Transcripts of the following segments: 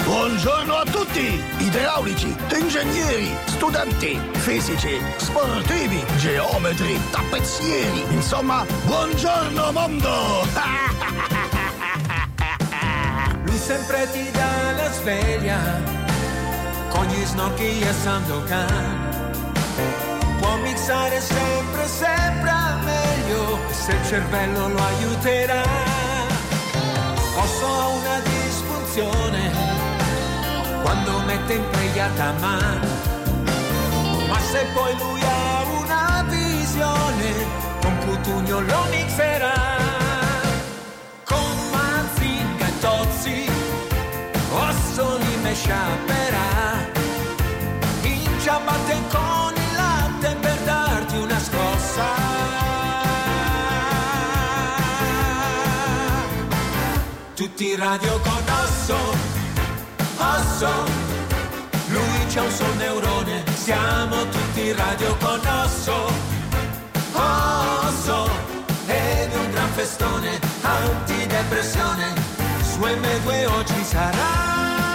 Buongiorno a tutti! Idraulici, ingegneri, studenti, fisici, sportivi, geometri, tappezzieri. Insomma, buongiorno mondo! Lui sempre ti dà la sveglia con gli snocchi e Sandokan. Può mixare sempre, sempre meglio se il cervello lo aiuterà. Osso ha una disfunzione quando mette impregliata mano, ma se poi lui ha una visione, con Cutugno lo mixerà. Con Mazinga e Tozzi, Osso li mesciaperà, in ciabatte con il latte per darti una scossa. Tutti in radio con Osso. Osso, lui c'ha un sol neurone, siamo tutti in radio con Osso. Osso, ed è un gran festone, antidepressione, su M2 oggi sarà.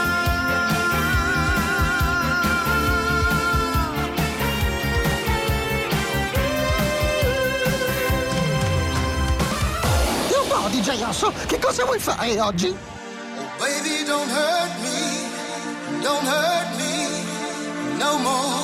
E un po' DJ Osso, che cosa vuoi fare oggi? Oh baby, don't hurt me, don't hurt me no more.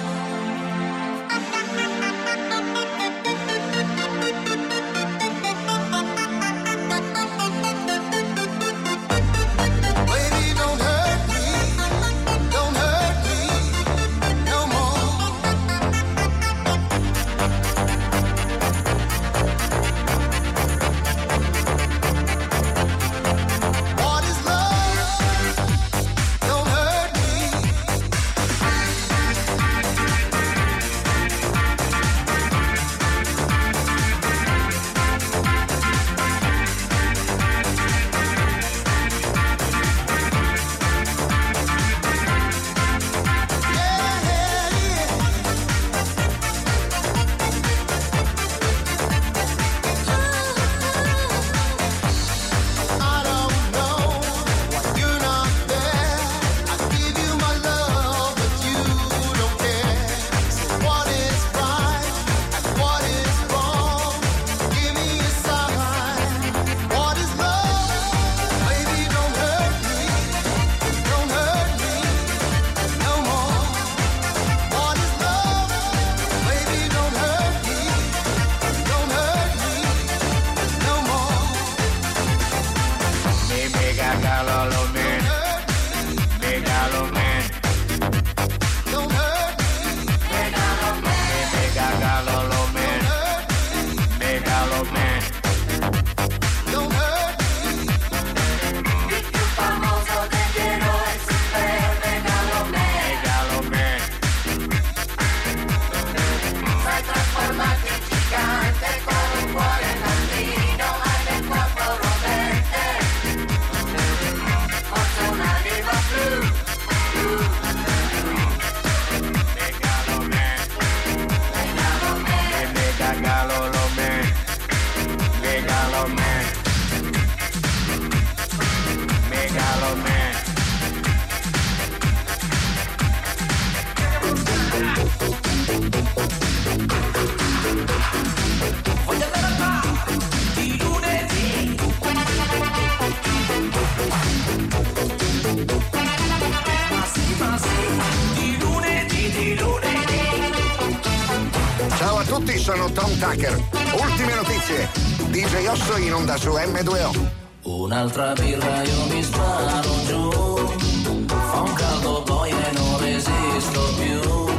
Ciao a tutti, sono Tom Tucker. Ultime notizie. DJ Osso in onda su M2O. Un'altra birra io mi sparo giù, fa un caldo poi e non resisto più.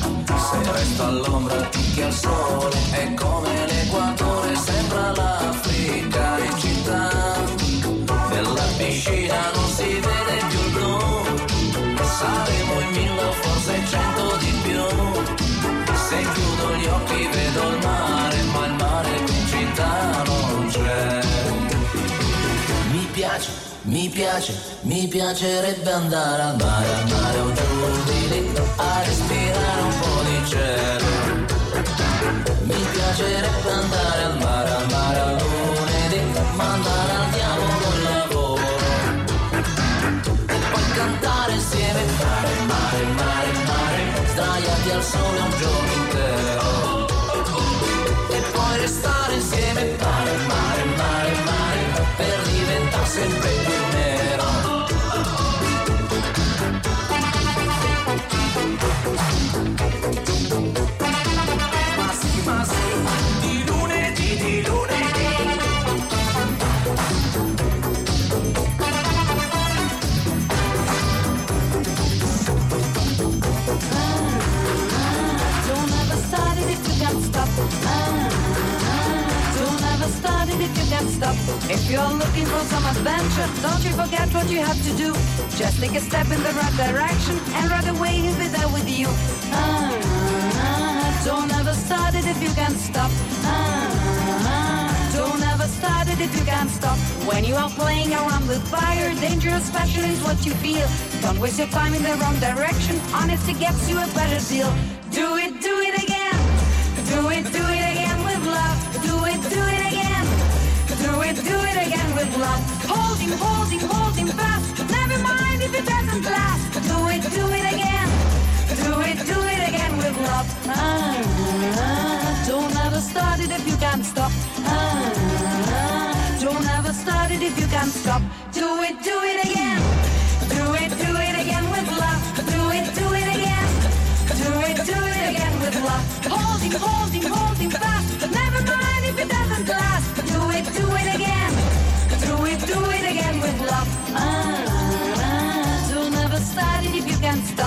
Se resto all'ombra picchia il sole, è come l'equatore, sembra l'Africa in città. Nella piscina non si vede più il blu, saremo in 1000 o forse 100 di più. Se chiudo gli occhi vedo il mare, ma il mare qui in città non c'è. Mi piacerebbe andare al mare o giù di lì, a respirare un po' di cielo. Mi piacerebbe andare al mare a lunedì, mandare al diavolo il lavoro. E poi sole un giorno intero. E poi restare insieme, mare, mare, mare, mare, per diventare sempre più nero. Ma sì, di lunedì, di lunedì. Don't ever start it if you can't stop. Don't ever start it if you can't stop. If you're looking for some adventure, don't you forget what you have to do. Just take a step in the right direction, and right away he'll be there with you. Don't ever start it if you can't stop. Don't ever start it if you can't stop. When you are playing around with fire, dangerous passion is what you feel. Don't waste your time in the wrong direction. Honesty gets you a better deal. Do it again. Do it again with love. Do it again. Do it again with love. Hold him fast. Never mind if it doesn't last. Do it again. Do it again with love. Don't ever start it if you can't stop. Don't ever start it if you can't stop. Do it again. Do it again with love. Do it again. Do it again with love. Hold him fast. Never mind if it doesn't last. Do it again. Do it again with love. Don't ever start it if you can't stop.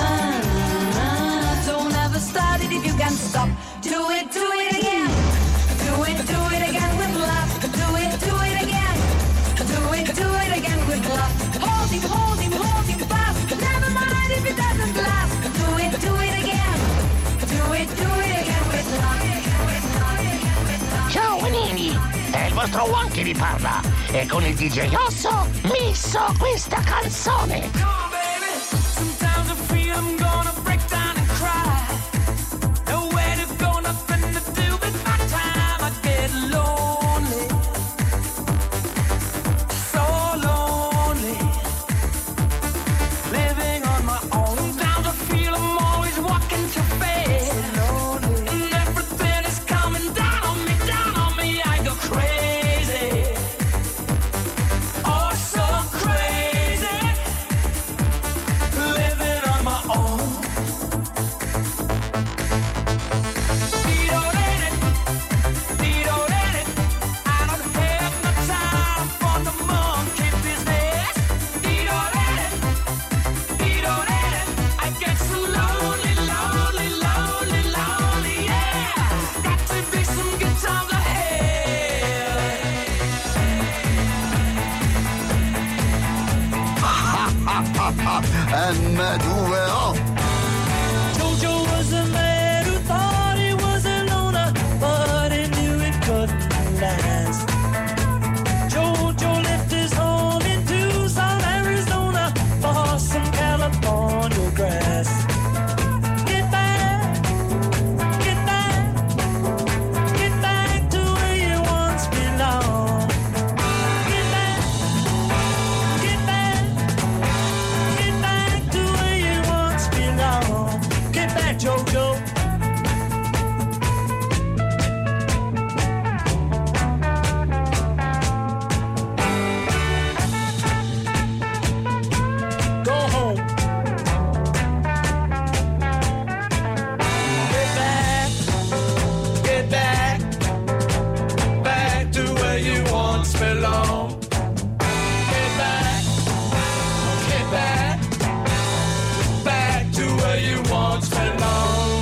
Don't ever start it if you can't stop. Do it again. Do it again with love. Do it again. Do it again with love. Hold him fast. Never mind if it doesn't last. Do it again. Do it again with love. Ciao Nini, è il vostro Juan che vi parla e con il DJ Osso misso questa canzone. Sometimes I feel I'm gonna break down and cry. Nowhere to go, nothing to do with my time. I get lonely, so lonely, living on my own. Sometimes I feel I'm always walking too fast, and everything is coming down on me, I go crazy, oh so crazy, living on my own. I don't have no time for the monkey business. I get so lonely, yeah. Got to be some good times ahead. M2O. Jojo was a man who thought he was a loner, but he knew it couldn't last. Jojo left his home in Tucson, Arizona, for some California grass. Get back to where you once belonged. Get back to where you once belonged. Get back, Jojo. Go home. Get back to where you once belong. Get back to where you once belong.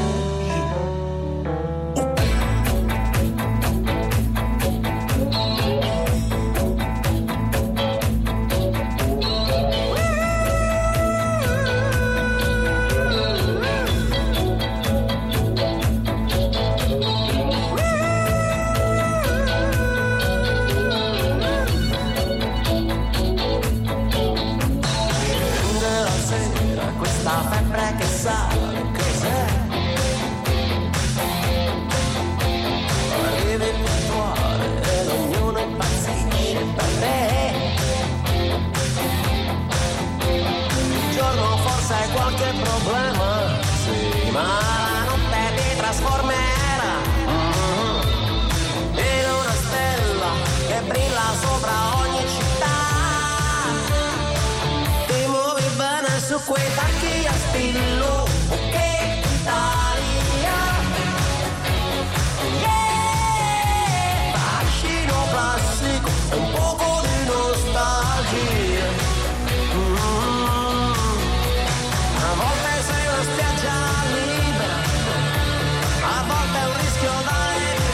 Questa febbre che sale, cos'è? Arrivi puntuale ed ognuno impazzisce per te. Un giorno forse hai qualche problema, sì, ma la notte ti trasformerà in una stella che brilla sopra ogni città. Ti muovi bene su quei tacchi a spillo, che Italia, yeah! Fascino classico, un poco di nostalgia. A volte sei una spiaggia libera, a volte è un rischio da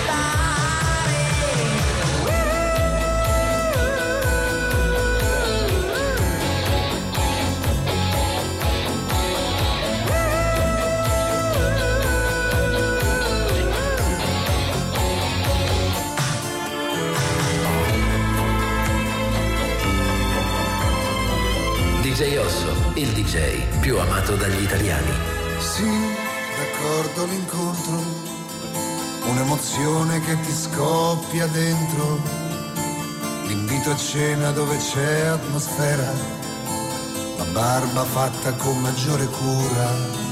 DJ Osso, il DJ più amato dagli italiani. Sì, d'accordo l'incontro, un'emozione che ti scoppia dentro, l'invito a cena dove c'è atmosfera, la barba fatta con maggiore cura,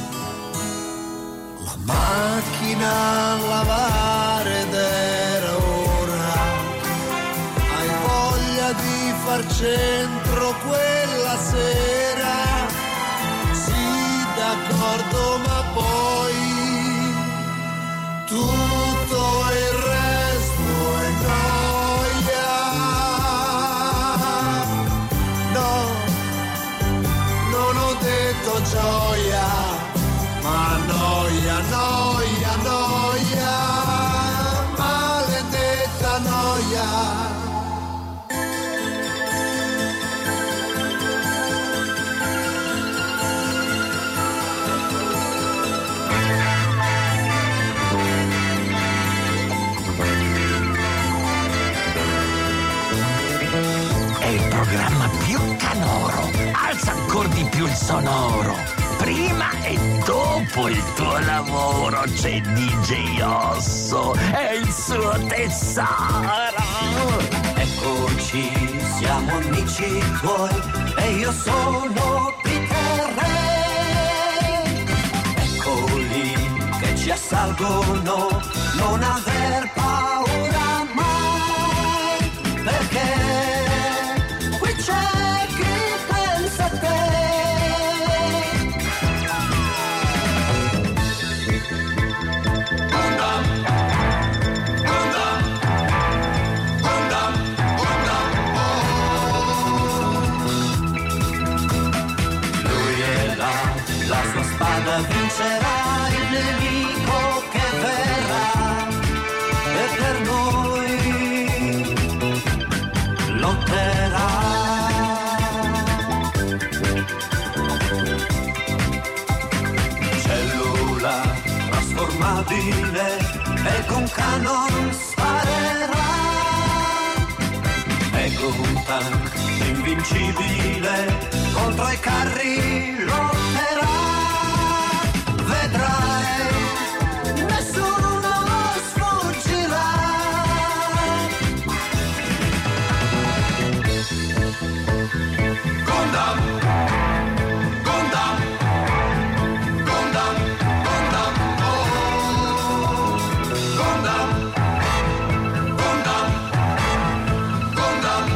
la macchina a lavare ed era ora, hai voglia di far centro quella sera, sì d'accordo ma poi tutto il resto è noia. No, non ho detto gioia, ma noia, noia, noia, maledetta noia. Programma più canoro, alza ancora di più il sonoro. Prima e dopo il tuo lavoro c'è DJ Osso e il suo tesoro. Eccoci, siamo amici tuoi e io sono Peter Ray. Eccoli che ci assalgono, non aver paura mai, perché c'è chi pensa a te. Gundam, Gundam, Gundam, Gundam, oh. Lui è là, la sua spada vincerà il nemico che verrà e per noi lotterà. Trasformabile e con canon sparerà, è un tank invincibile, contro i carri lotterà, vedrai, nessuno sfuggirà. Gundam, Gundam, Gundam, Gundam, oh. Gundam, Gundam, Gundam,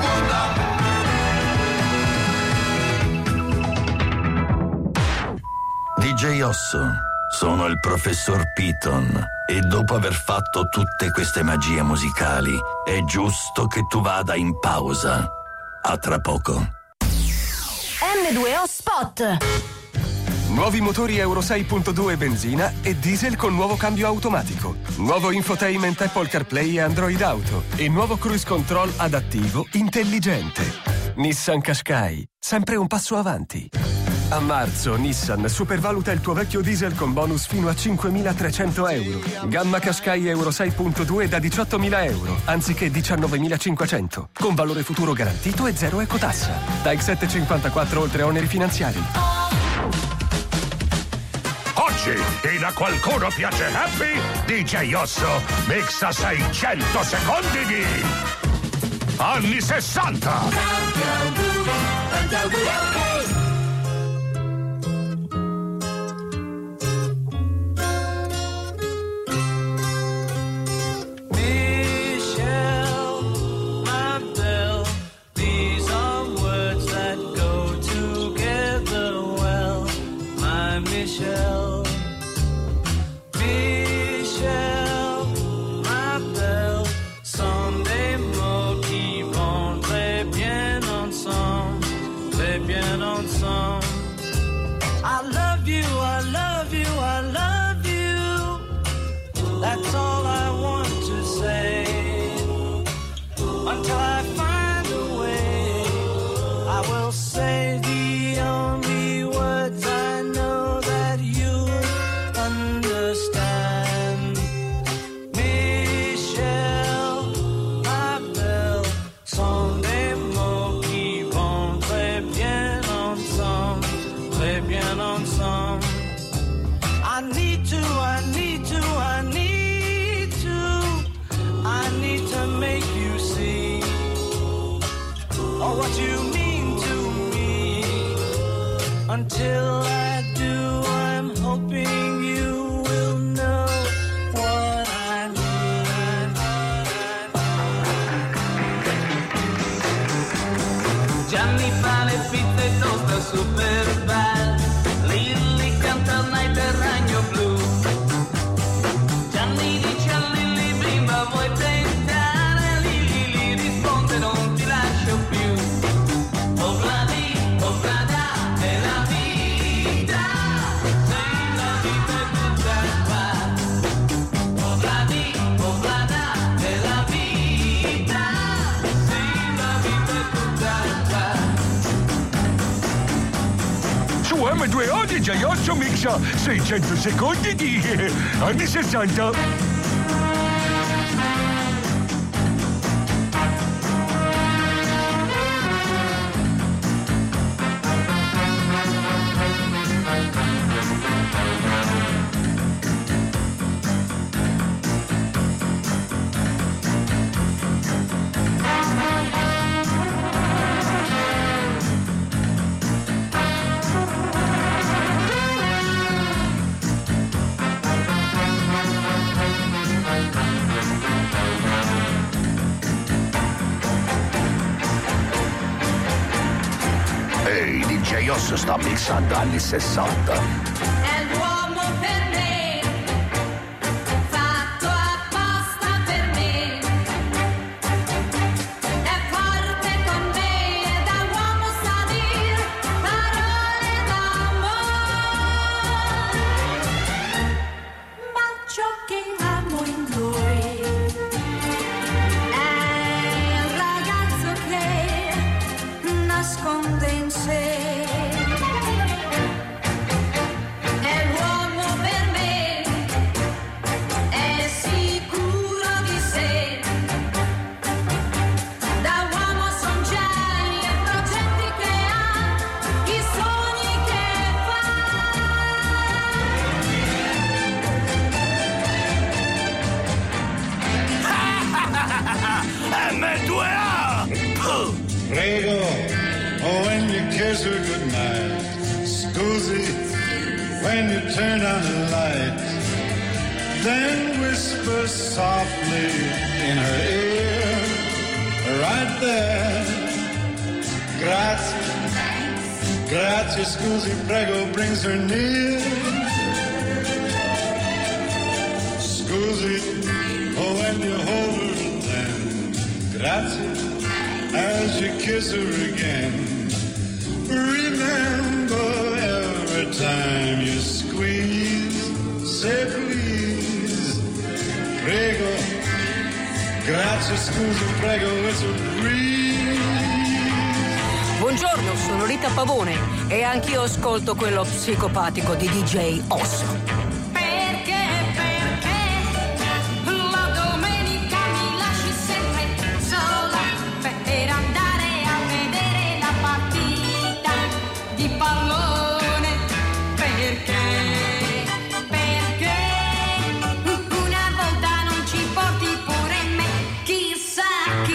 Gundam. DJ Osso, sono il professor Piton e dopo aver fatto tutte queste magie musicali è giusto che tu vada in pausa. A tra poco. M2O Spot. Nuovi motori Euro 6.2 benzina e diesel con nuovo cambio automatico. Nuovo infotainment Apple CarPlay e Android Auto. E nuovo cruise control adattivo intelligente. Nissan Qashqai, sempre un passo avanti. A marzo Nissan supervaluta il tuo vecchio diesel con bonus fino a 5.300 euro. Gamma Qashqai Euro 6.2 da 18.000 euro, anziché 19.500. Con valore futuro garantito e zero ecotassa. TAG 754 oltre oneri finanziari. Oggi, e a qualcuno piace Happy, DJ Osso mixa 600 secondi di anni 60. I will say the only words I know that you understand. Michel, ma belle, sont des mots qui vont très bien ensemble, très bien ensemble. I need to make you see what you mean to me. Until I do, I'm hoping you will know what I mean. Gianni fa le pizze e tosta super belle, Lilli canta il night del ragno blu. Gianni dice a Lilli bimba vuoi tentare, Lilli risponde non ti lascio più. Oh Vladi, oh Vlada, è la vita, sei la vita tutta qua. Oh Vladi, oh Vlada, è la vita, sei la vita tutta qua. Su M2O DJ Osso mixa 600 secondi di anni 60. Ehi, DJ Osso sta mixando anni 60. È l'uomo per me, fatto apposta per me. È forte con me e da uomo sa dir parole d'amore. Ma ciò che amo in lui è il ragazzo che nasconde in sé. È l'uomo per me, è sicuro di sé. Da uomo son geni e progetti che ha, i sogni che M2A! Prego, oh, when you kiss her goodnight. Scusi, when you turn on the light. Then whisper softly in her ear, right there. Grazie, grazie, scusi, prego, brings her near. Scusi, oh, when you hold her then. Grazie, as you kiss her again. Remember every time you squeeze, say please, prego, grazie, scusi, prego, it's a breeze. Buongiorno, sono Rita Pavone e anch'io ascolto quello psicopatico di DJ Osso. la domenica mi lasci sempre sola per andare a vedere la partita di pallone. Perché una volta non ci porti pure me? Chissà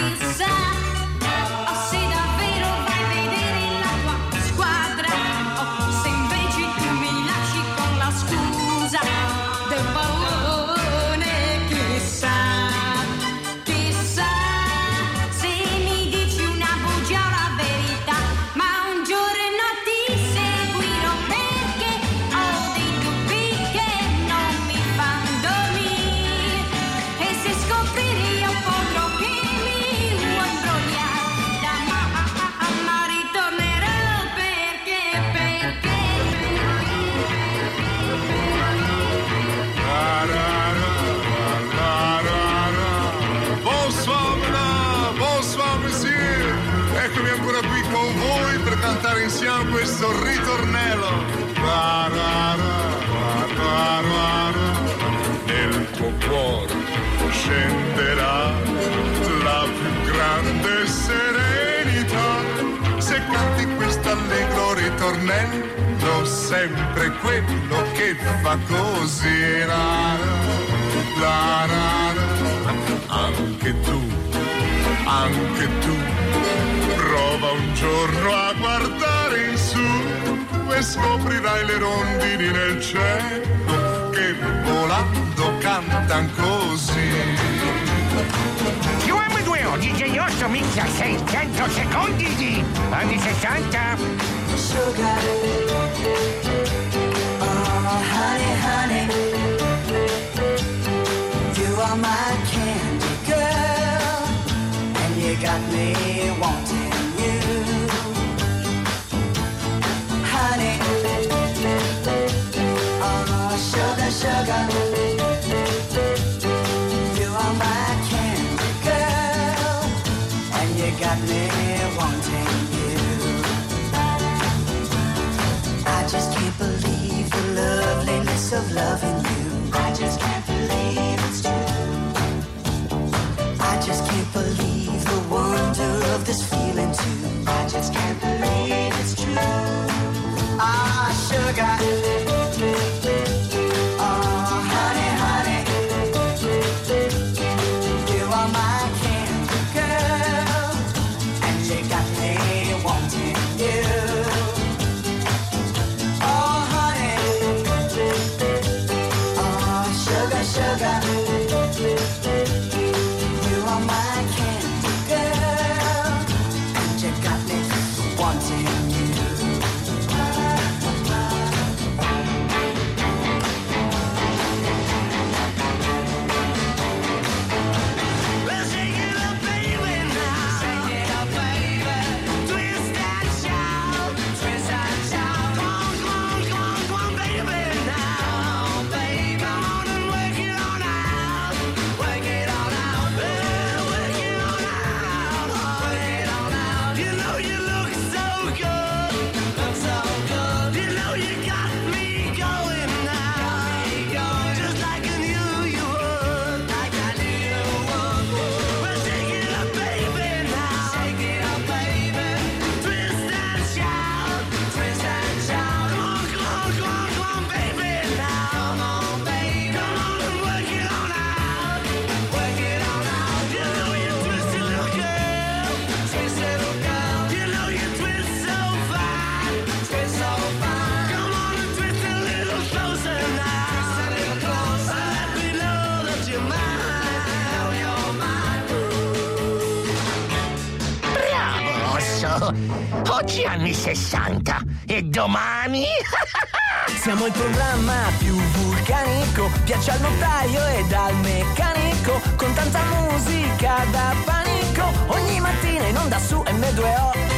se davvero vai a vedere la tua squadra o se invece tu mi lasci con la scusa pensiamo questo ritornello. Nel tuo cuore scenderà la più grande serenità se canti questo allegro ritornello, sempre quello che fa così. Anche tu prova un giorno a guardare in su e scoprirai le rondini nel cielo che volando cantan così. Più M2O, DJ Osso mixa 600 secondi di anni 60. Sugar, oh honey, honey, you are my candy girl, and you got me wanting you, honey, oh sugar, sugar, you are my candy girl, and you got me wanting you. I just can't believe the loveliness of loving you. I just can't believe it's true. I just can't believe the wonder of this feeling too. I just can't believe it's true. Ah, sugar. Oh, honey, honey. You are my candy girl, and you got me wanting you. Sugar, you are my candy girl, and you got me wanting you. Well, shake it up, baby, now. Shake it up, baby. Twist and shout, twist and shout. Come on, come on, come on, come on, baby, now, baby. Come on and work it on out. Work it on out, well, work it on out. Work it on out. You know you look so good, look so good. You know you got me going now, just like I knew you would, like I knew you would. Well, shake it up, baby, now. Shake it up, baby. Twist and shout, twist and shout. Come on, come on, come on, come on, baby, now. Come on, baby. Come on and work it on out. Work it on out. You know you twist it, little girl. Twist it, little girl. You know you twist so fine. Twist so fine. Come on and twist a little closer now. Twist a little closer. Let me know that you're mine. You're mine. Bravo, Osso! Oggi anni 60 e domani... Siamo il programma più vulcanico, piace al notaio ed al meccanico, con tanta musica da panico, ogni mattina in onda su M2O.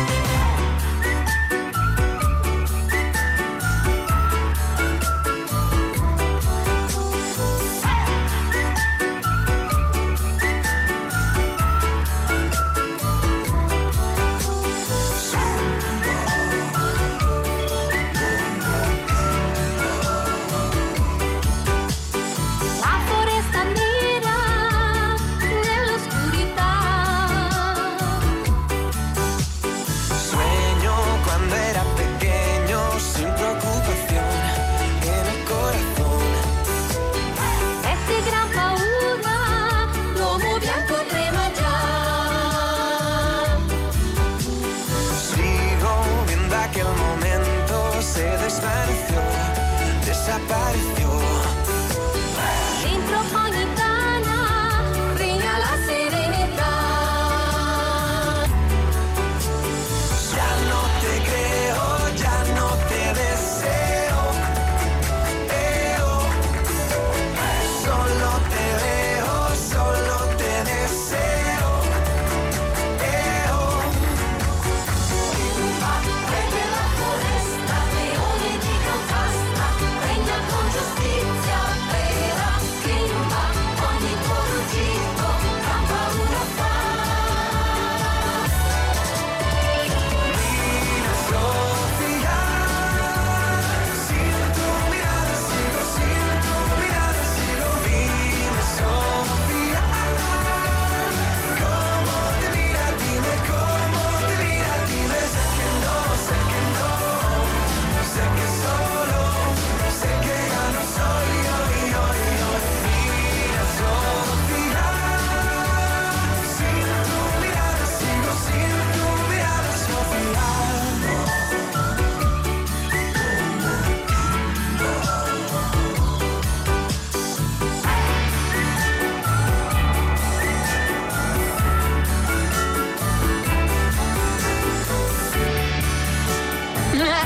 La foresta nera nell'oscurità. Sueño cuando era pequeño, sin preocupación en el corazón. E che gran paura, l'uomo bianco trema già. Sigo viendo aquel momento, se desvaneció, desapareció. Dentro ogni tana regna la serenità. Ya no te creo, ya no te deseo. Solo te veo, solo te deseo. Prende la foresta, leone di contrasta, regna con giustizia.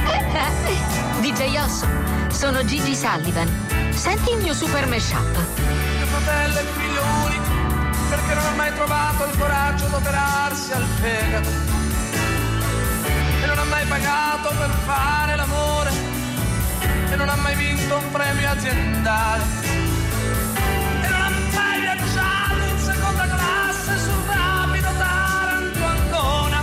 DJ Osso, sono Gigi Sullivan. Senti il mio super mashup. Mio fratello è il figlio unico, perché non ha mai trovato il coraggio di operarsi al fegato. E non ha mai pagato per fare l'amore. E non ha mai vinto un premio aziendale. E non ha mai viaggiato in seconda classe sul rapido Taranto-Ancona.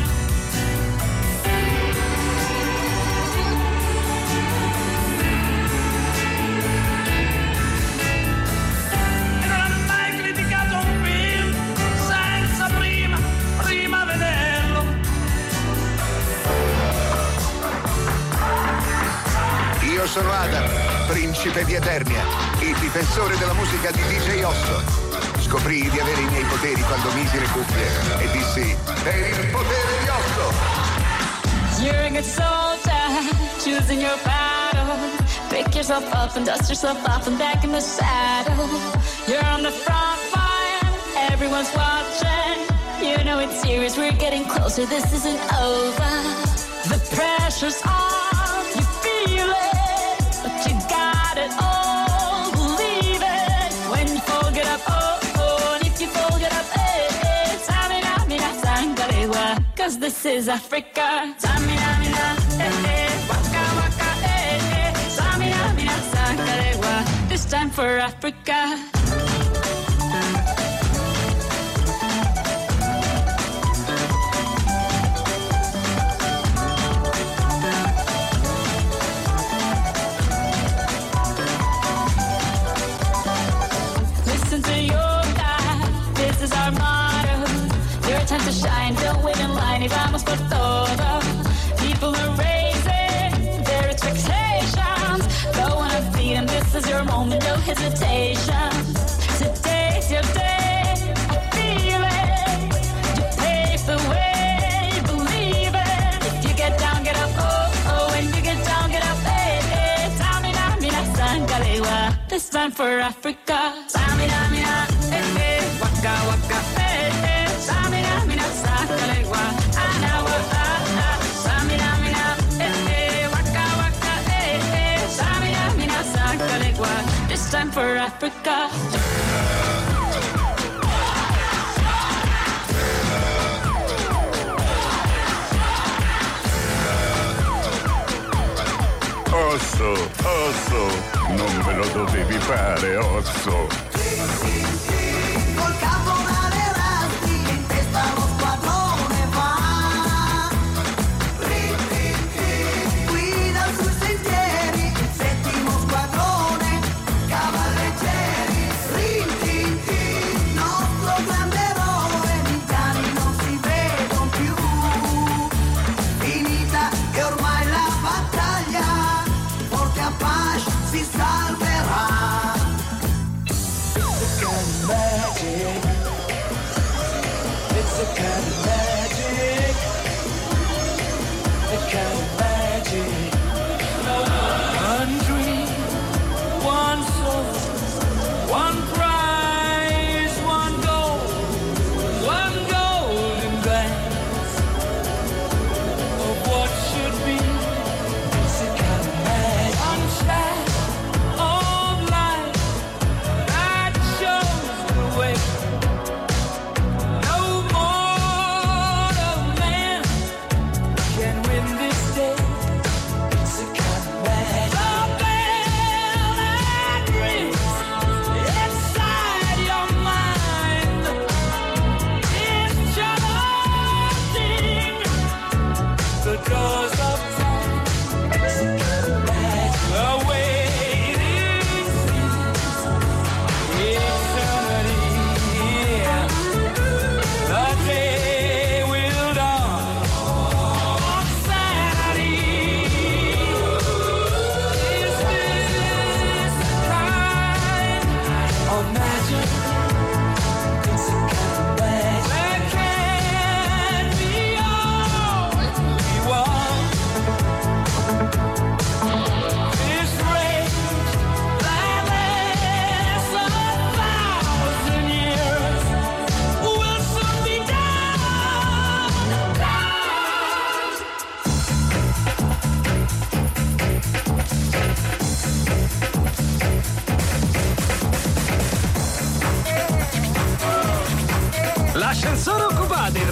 E non ha mai criticato un film senza prima vederlo. Io sono Adam, principe di Eternia, il difensore della musica di DJ Osso. Scoprii di avere i miei poteri quando misi le cuffie e dissi: per il potere di Osso! You're a good soldier, choosing your battle. Pick yourself up and dust yourself off and back in the saddle. You're on the front line, everyone's watching. You know it's serious, we're getting closer, this isn't over. The pressure's on, you feel it, but you got it all, believe it. When you fold it up, oh, oh, and if you fold it up, eh, eh, Samina, mina, sangarewa, 'cause this is Africa. Samina, mina, eh, eh, waka, waka, eh, eh, Samina, mina, sangarewa, this time for Africa. Listen to your God, this is our motto. Your time to shine, don't wait in line, y vamos por todo. People are raising their expectations. Go on and feed them, this is your moment, no hesitation. Today's your day, I feel it. You pave the way, believe it. If you get down, get up, oh, oh. When you get down, get up, hey, hey. Samina, mina, sangalewa, this time for Africa. Samina, mina, hey, hey. Waka, waka, hey, hey. Samina, mina, sangalewa, anawa, ah, ah. Samina, mina, hey, hey. Waka, waka, hey, hey. Samina, mina, sangalewa, this time for Africa. Osso, non me lo dovevi fare, Osso. Col caporale Rasti in testa lo squadrone va. Guida sui sentieri il settimo squadrone, cavalleggeri. Nostro grande eroe, gli indiani non si vedono più. Finita e ormai la battaglia, Forte Apache si salverà.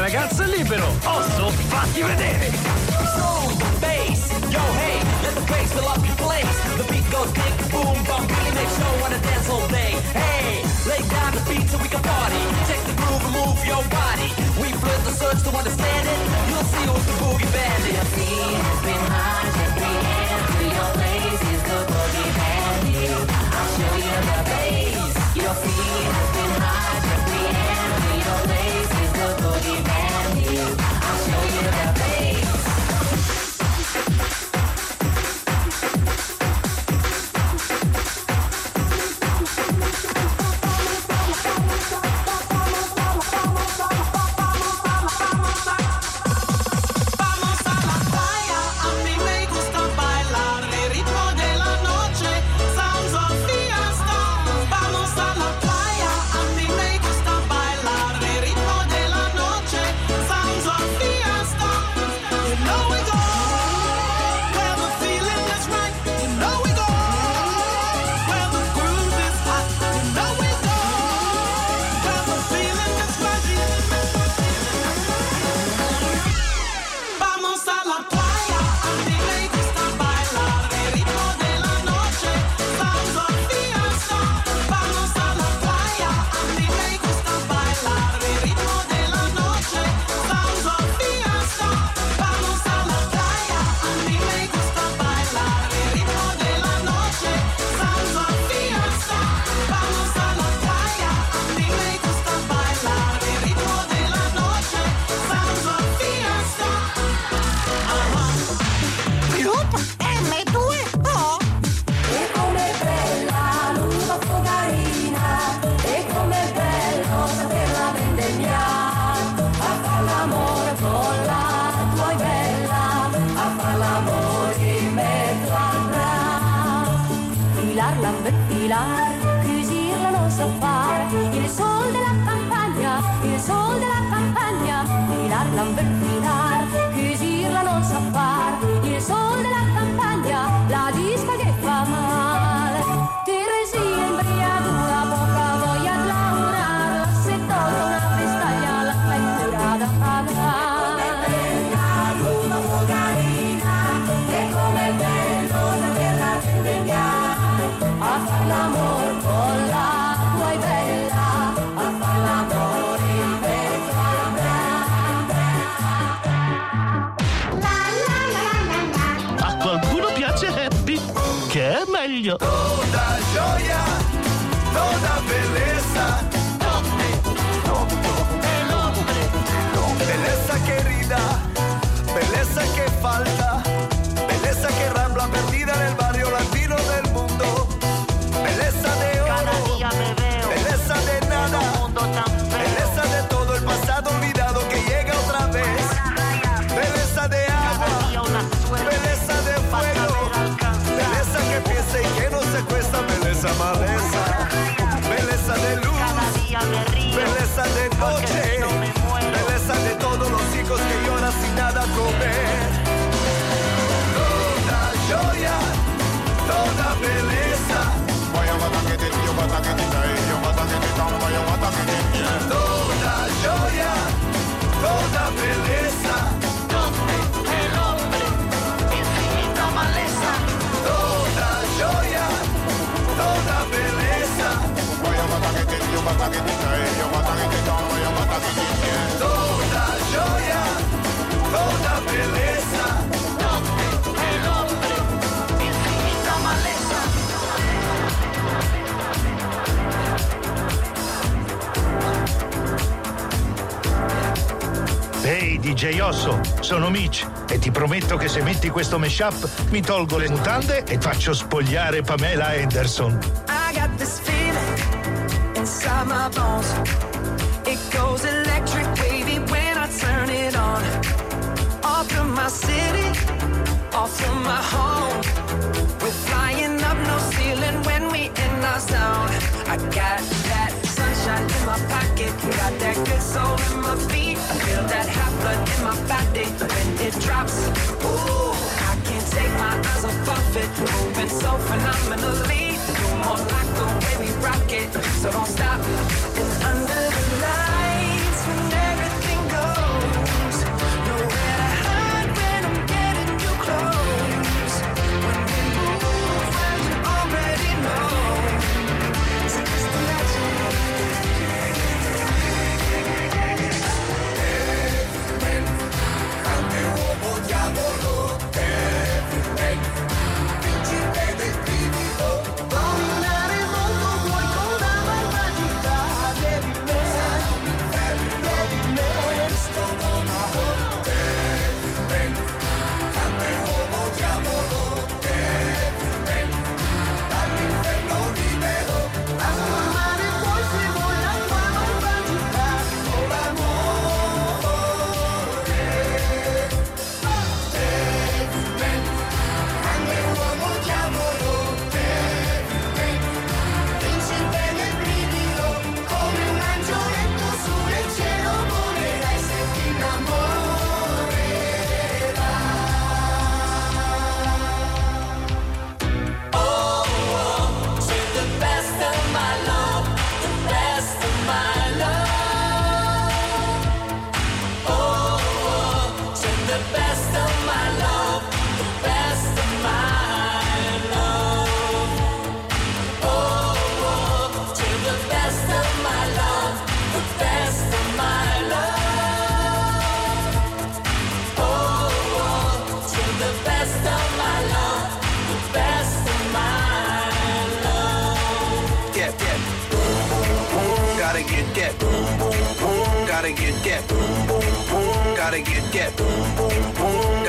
ragazzo è libero. Osso, fatti vedere. Soul, bass, yo hey, let the bass fill up your place. The beat goes big, boom, bum, really make sure wanna dance all day. Hey, lay down the beat so we can party. Check the groove and move your body. We flip the search to understand it. You'll see who's the boogie bandit. Your feet has been hard, every hand to your legs is the boogie bandit. I'll show you the bass. Your feet has been hard, every hand to your legs is the boogie bandit. I'll show you the bass. Toda gioia, toda belleza, el hombre, belleza querida, belleza que falta, belleza que rambla perdida en el barrio latino del mundo, belleza de oro, belleza de nada, belleza de todo el pasado olvidado que llega otra vez, belleza de agua, belleza de fuego, belleza que piensa y que no se cuesta, belleza maleza, belleza de luz, belleza de noche, belleza de todos los hijos que lloran sin nada comer. Toda joya, toda belleza. Toda joya, toda belleza. El hombre, infinita maleza. Toda joya, toda belleza. Toda joya, toda belleza. El hombre, infinita maleza. Ehi DJ Osso, sono Mitch e ti prometto che se metti questo mashup mi tolgo le mutande e faccio spogliare Pamela Anderson. I got this feeling inside my bones. It goes electric wavy when I turn it on. Off from my city, off from my home. We're flying up no ceiling when we in our zone. I got that sunshine in my pocket, got that good soul in my feet. I feel that hot blood in my body when it drops. Ooh, I can't take my eyes off it, moving so phenomenally. You're more like the way we rock it, so don't stop. And under the lights when everything goes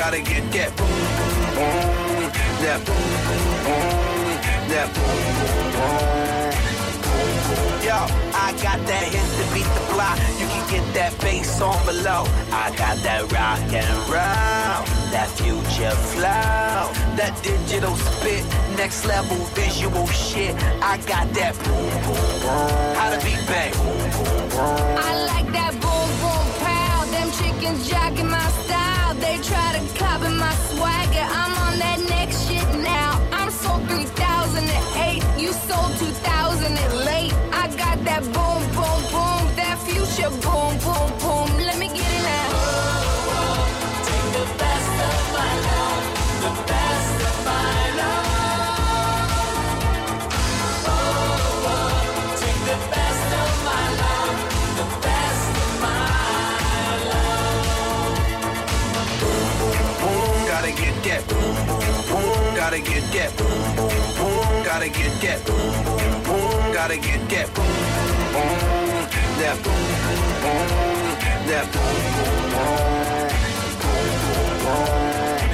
Gotta get that boom, boom, boom. That boom, boom, boom. That boom, boom, boom. Yo, I got that hit to beat the block. You can get that bass on below. I got that rock and roll, that future flow, that digital spit, next level visual shit. I got that boom, boom, boom. How to beat bang. Boom, boom, boom. I like that boom, boom, pow. Them chickens jogging my style. They try to copy my swagger. I'm on that next shit now. I'm sold 3008. You sold 2000 and late. I got that boom, boom, boom. That future boom, boom, boom. Let me get it now. Take the best of my love, the best of my love. Oh, oh, take the best of my love, the best of my love. Boom, boom, boom, gotta get that boom, boom, boom, gotta get that boom, boom, boom, gotta get that boom, boom, boom, gotta get that boom, boom, that boom, boom, that boom, boom, boom, boom.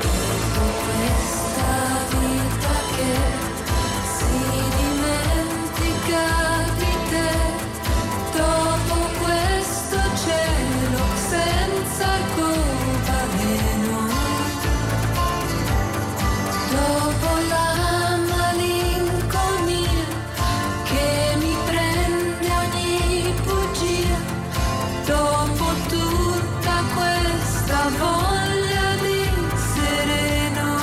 Questa vita che si dimentica di te, dopo questo cielo senza arcobaleno, dopo la malinconia che mi prende ogni bugia, dopo tutta questa voglia di sereno,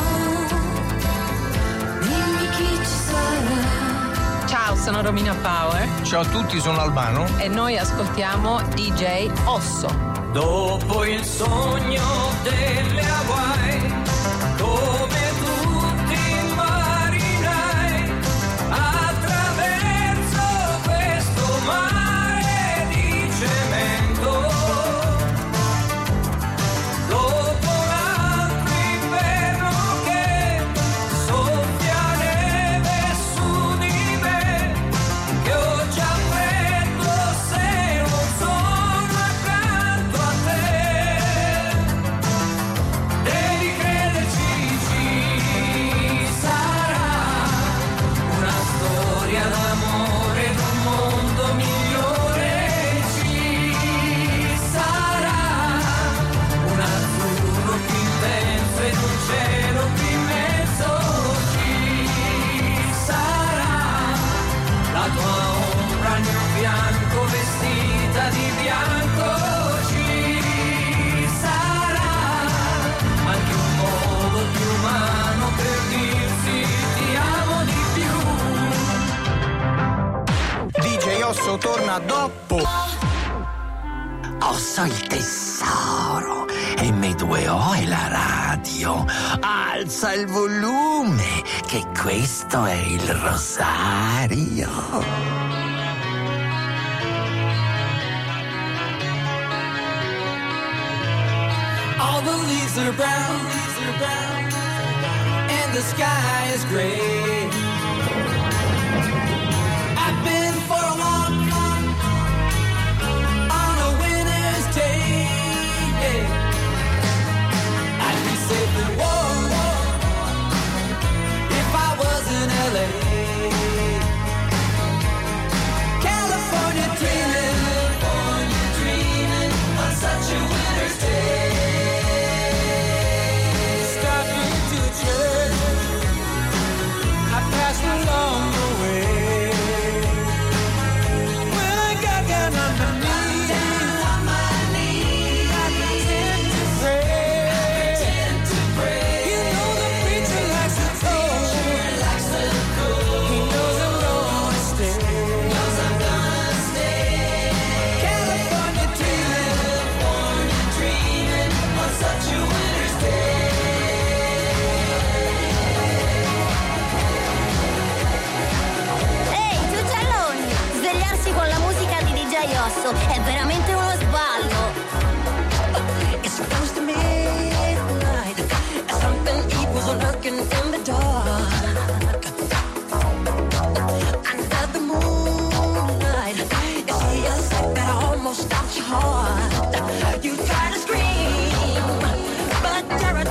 dimmi chi ci sarà. Ciao, sono Romina Power. Ciao a tutti, sono Albano. E noi ascoltiamo DJ Osso. Dopo il sogno delle Hawaii, come tutti i marinai, attraverso questo mare di cemento, dopo un altro inverno che soffia neve su di me, che ho già freddo se non sono accanto a te. Devi crederci, ci sarà una storia d'amore d'un mondo migliore, ci sarà un azzurro più intenso ed un cielo più immenso, ci sarà la tua ombra al mio fianco vestita di bianco, ci sarà anche un modo più umano per dirsi ti amo di più. DJ Osso torna dopo. Osso il tesoro, M2O è la radio. Alza il volume, che questo è il rosario. All the leaves are brown, and the sky is gray. I've been for a walk on a winter's day. I'd be safe and warm if I was in LA. California dreaming on such a winter's day. Stopping to church, I passed along the way. When I got down on my knees, I pretend to pray. You know the preacher likes to talk. He knows I'm gonna stay. California dreaming on such a winter's day. Ehi, tu cialoni! Svegliarsi con la musica di DJ Osso è veramente uno sballo. It's close to midnight, and something evil's lurking in the dark. Under the moonlight, you see a sight that almost stops your heart. You try to scream, but terror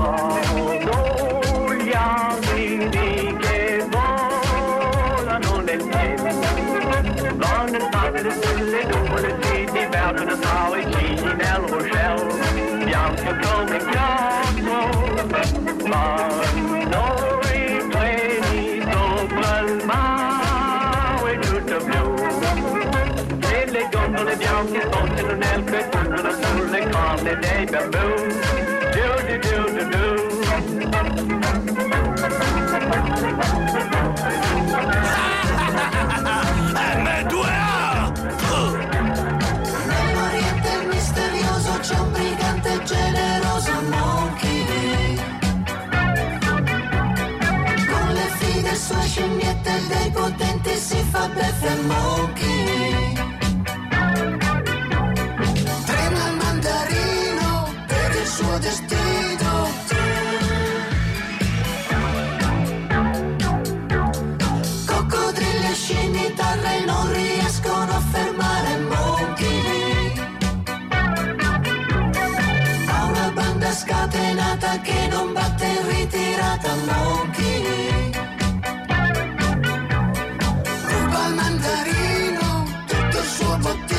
sono gli asini che volano nel cielo, vanno nel mare delle nuvole, si divertono tra i cigni nell'oceano, bianco come ghiaccio, vanno i treni sopra il mare tutto blu, e le gondole bianche spostano nel crepuscolo sulle corne dei bambù. M2A! Nell'Oriente misterioso c'è un brigante generoso Monkey, con le fighe sue scimmiette dei potenti si fa beffe Monkey. Trema il mandarino per il suo destino. Coccodrilli e scimitarre non riescono a fermare Monkey. Ha una banda scatenata che non batte in ritirata Monkey. Ruba il mandarino, tutto il suo bottino.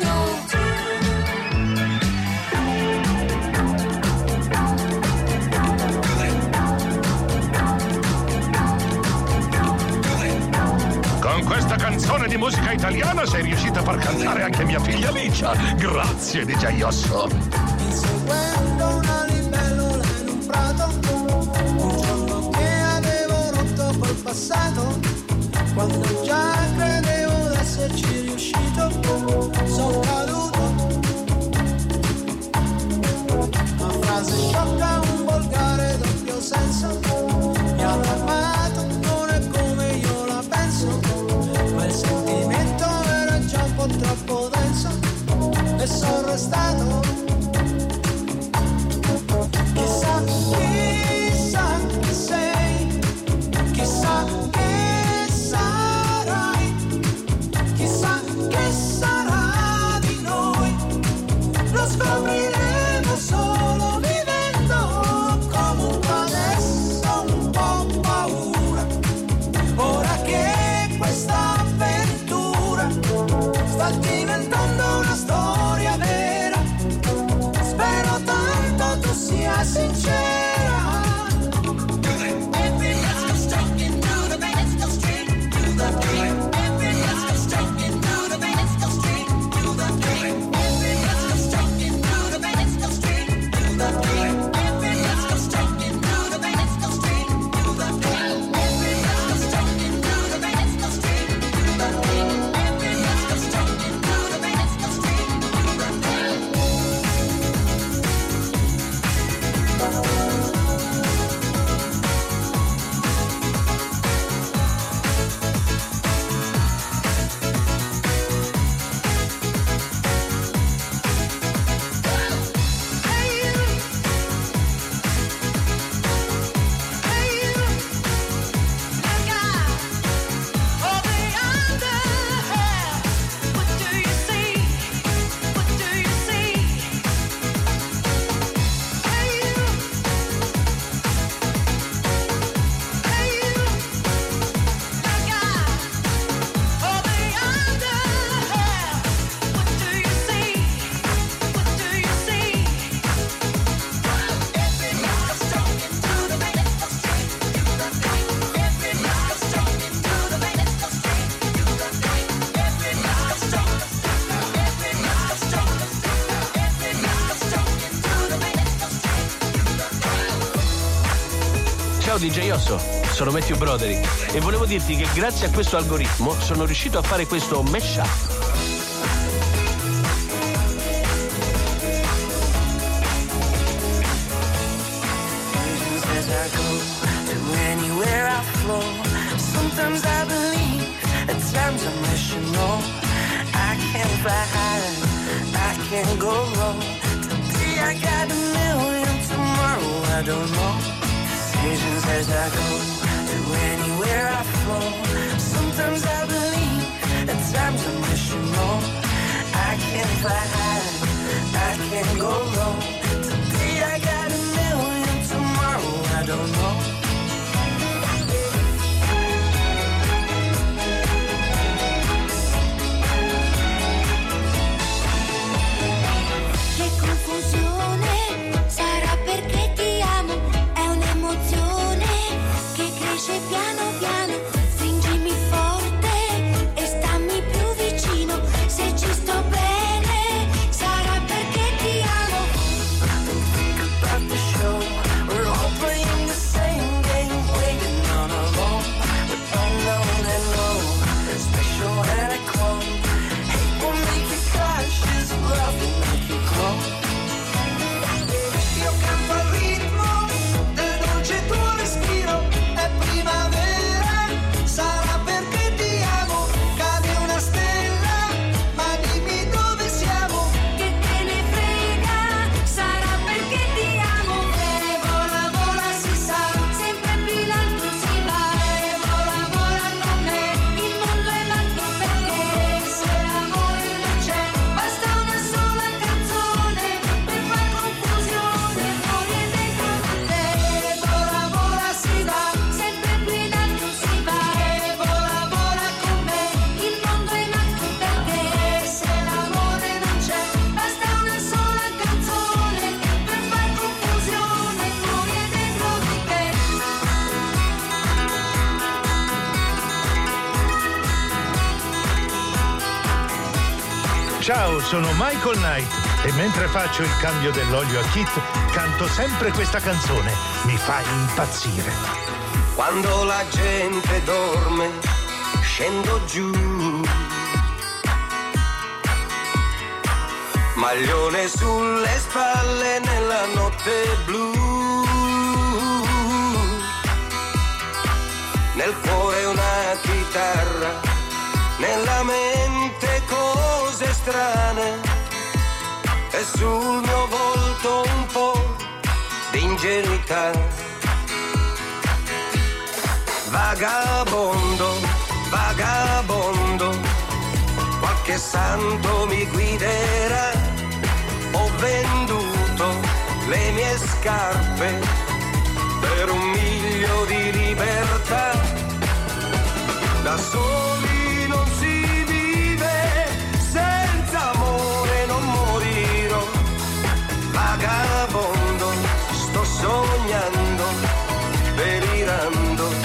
Con questa canzone di musica italiana sei riuscita a far cantare anche mia figlia Licia. Grazie, DJ Osso. Inseguendo una libellula in un prato, un giorno che avevo rotto col passato, quando già credevo d'esserci riuscito, sono caduto. Una frase sciocca, un volgare doppio senso, mi ha fermato, non è come io la penso, ma il sentimento era già un po' troppo denso e sono restato. Chissà, chissà chi sei, chissà che sarai, chissà che sarà di noi, lo scopriremo solo vivendo. Comunque adesso un po' paura, ora che questa avventura sta diventando una storia vera, spero tanto tu sia sincera. Ciao DJ Osso, sono Matthew Broderick e volevo dirti che grazie a questo algoritmo sono riuscito a fare questo mashup. Sometimes I believe, at times I wish you know I can't fly high, I can't go low. Today I got a million, tomorrow I don't know. Decisions as I go, to anywhere I flow. Sometimes I believe, at times I wish you know I can't fly high, I can't go low. Today I got a million, tomorrow no. Che confusione, sarà perché ti amo, è un'emozione che cresce piano piano, stringimi forte e stammi più vicino, se ci sto bene, sarà perché ti amo. Think about the show, we're all playing the same game, waiting on our own, but I know that no, it's special and I call. Hate will make you cry, she's love will make you glow. Io canto al ritmo del dolce tuo respiro, è primavera, sarà perché ti amo, cade una stella, ma dimmi dove siamo. Che te ne frega, sarà perché ti amo. E vola, vola, si sa, sempre più in alto si va. E vola, vola con me, il mondo è l'altro perché se l'amore non c'è, basta una sola canzone per far confusione fuori e dentro di te. E vola, vola, si va, sempre più in alto si va. E vola, vola con me, il mondo è l'altro perché se l'amore non c'è, basta una sola canzone per far confusione fuori e dentro di te. Ciao, sono Michael Knight e mentre faccio il cambio dell'olio a Kit canto sempre questa canzone. Mi fa impazzire. Quando la gente dorme, scendo giù. Maglione sulle spalle nella notte blu. Nel cuore una chitarra, nella mente cose strane. E sul mio volto un po' di ingenuità. Vagabondo, vagabondo, qualche santo mi guiderà. Ho venduto le mie scarpe per 1 miglio di libertà. Da soli non si vive, senza amore non morirò. Vagabondo, sto sognando, delirando.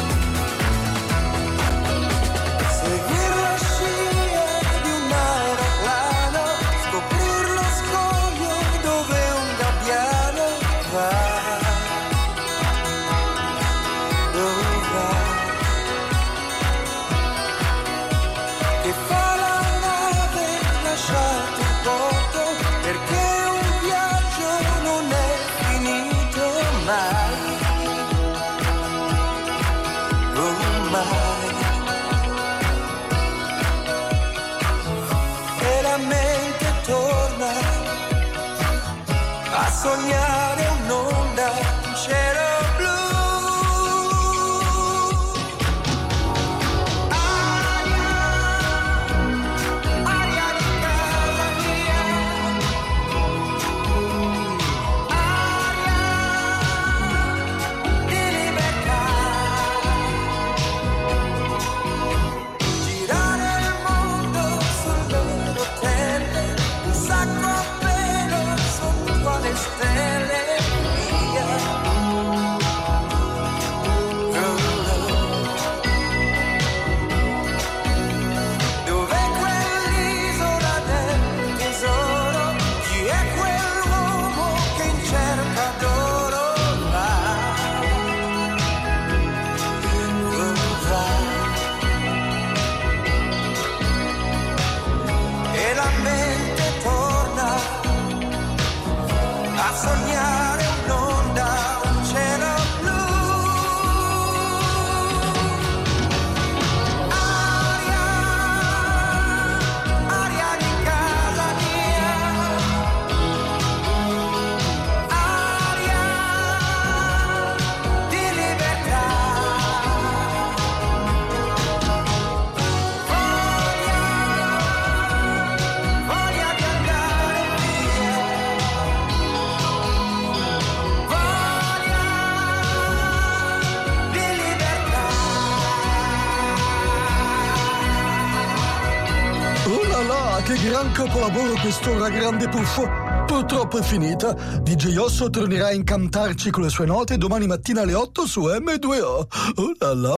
Seguire la scia di un aeroplano, scoprir lo scoglio dove un gabbiano va. Dove va? Che fa la nave lasciato il porto, perché un viaggio non è finito mai. Oh, mai. E la mente torna a sognare un'onda in cielo blu. Aria di casa mia, aria di libertà. Girare il mondo sulle rotelle, un sacco a pelo sotto le stelle. Che gran capolavoro quest'ora, grande puffo. Purtroppo è finita. DJ Osso tornerà a incantarci con le sue note domani mattina alle 8 su M2O. Oh là là.